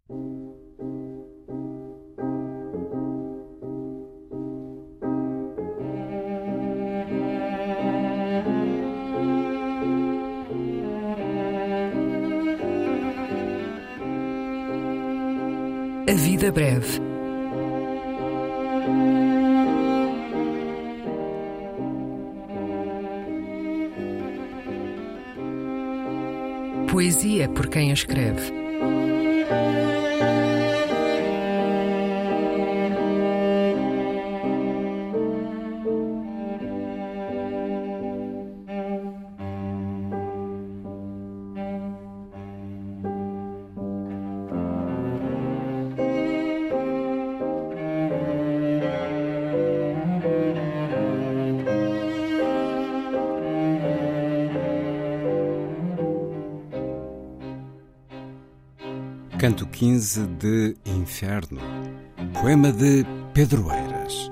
A vida breve. Poesia por quem a escreve. Canto 15 de Inferno, poema de Pedro Eiras.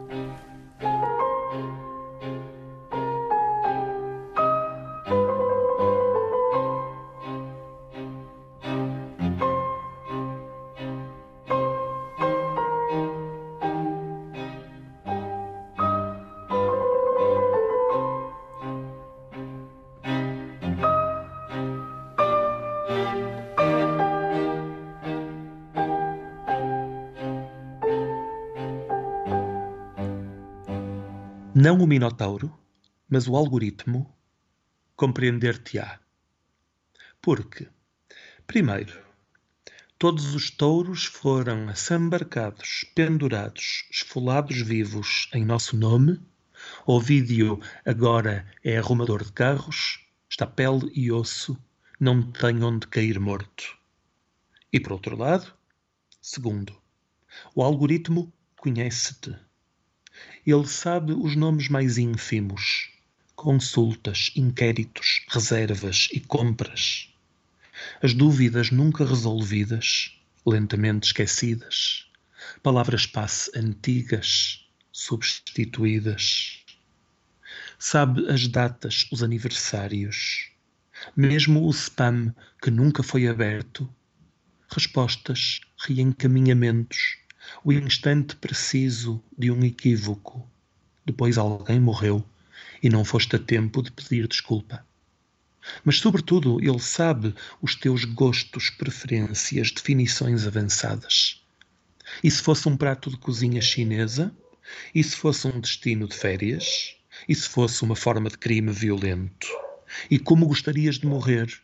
Não o Minotauro, mas o algoritmo compreender-te-á. Porque, primeiro, todos os touros foram assambarcados, pendurados, esfolados vivos em nosso nome. Ovídio agora é arrumador de carros, está pele e osso, não tem onde cair morto. E por outro lado, segundo, o algoritmo conhece-te. Ele sabe os nomes mais ínfimos, consultas, inquéritos, reservas e compras. As dúvidas nunca resolvidas, lentamente esquecidas. Palavras-passe antigas, substituídas. Sabe as datas, os aniversários. Mesmo o spam que nunca foi aberto. Respostas, reencaminhamentos. O instante preciso de um equívoco. Depois alguém morreu e não foste a tempo de pedir desculpa. Mas, sobretudo, ele sabe os teus gostos, preferências, definições avançadas. E se fosse um prato de cozinha chinesa? E se fosse um destino de férias? E se fosse uma forma de crime violento? E como gostarias de morrer?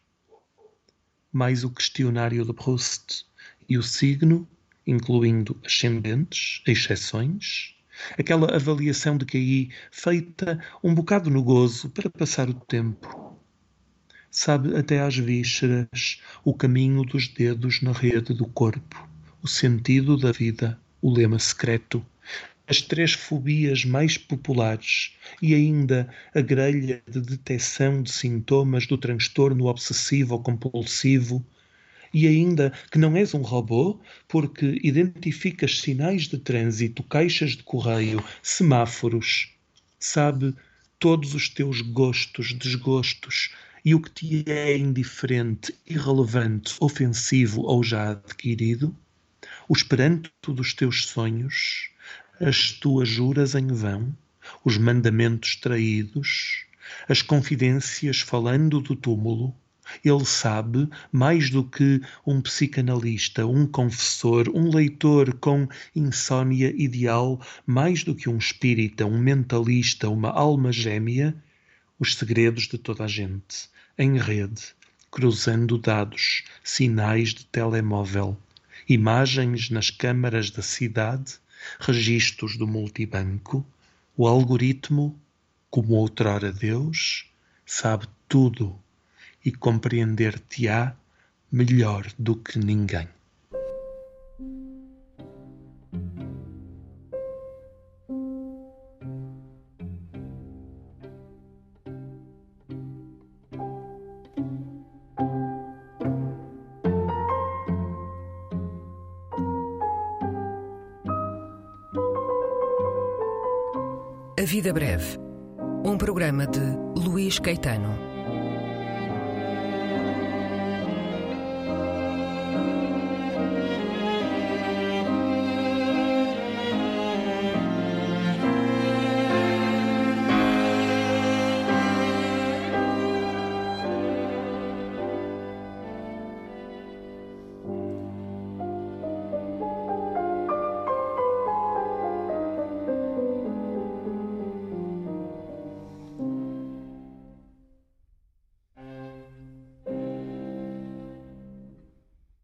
Mais o questionário de Proust e o signo, incluindo ascendentes, exceções, aquela avaliação de QI feita um bocado no gozo para passar o tempo. Sabe até às vísceras o caminho dos dedos na rede do corpo, o sentido da vida, o lema secreto, as 3 fobias mais populares e ainda a grelha de detecção de sintomas do transtorno obsessivo-compulsivo. E ainda que não és um robô, porque identificas sinais de trânsito, caixas de correio, semáforos. Sabe todos os teus gostos, desgostos e o que te é indiferente, irrelevante, ofensivo ou já adquirido. O esperanto dos teus sonhos, as tuas juras em vão, os mandamentos traídos, as confidências falando do túmulo. Ele sabe, mais do que um psicanalista, um confessor, um leitor com insônia ideal, mais do que um espírita, um mentalista, uma alma gêmea, os segredos de toda a gente, em rede, cruzando dados, sinais de telemóvel, imagens nas câmaras da cidade, registros do multibanco. O algoritmo, como outrora Deus, sabe tudo e compreender-te-á melhor do que ninguém. A Vida Breve, um programa de Luís Caetano.